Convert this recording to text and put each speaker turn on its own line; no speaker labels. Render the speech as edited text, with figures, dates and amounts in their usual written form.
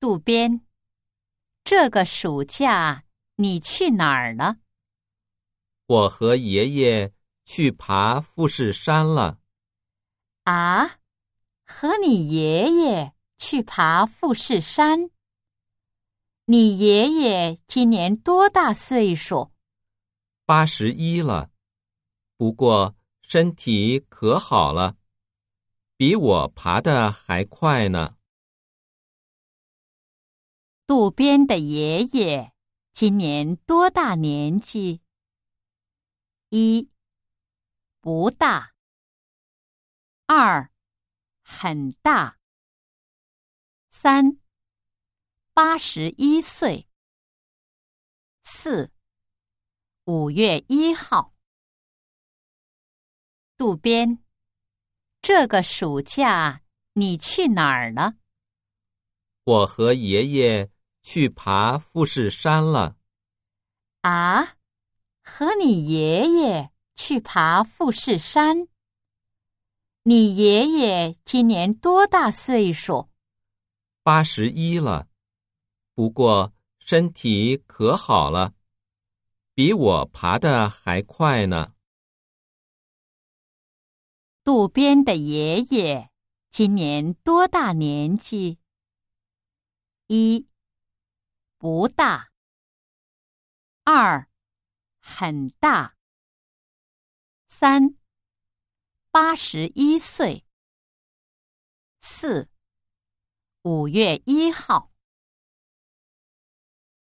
渡边，这个暑假你去哪儿了？
我和爷爷去爬富士山了。
啊，和你爷爷去爬富士山？你爷爷今年多大岁数
81了，不过身体可好了，比我爬得还快呢。
渡边的爷爷今年多大年纪？1. 不大。2. 很大。3. 81岁。4. 5月1号。渡边，这个暑假你去哪儿了？
我和爷爷去爬富士山了。
啊，和你爷爷去爬富士山？你爷爷今年多大岁数
81了，不过身体可好了，比我爬得还快呢。
渡边的爷爷今年多大年纪？1. 不大。2. 很大。3. 81岁。4. 5月1号。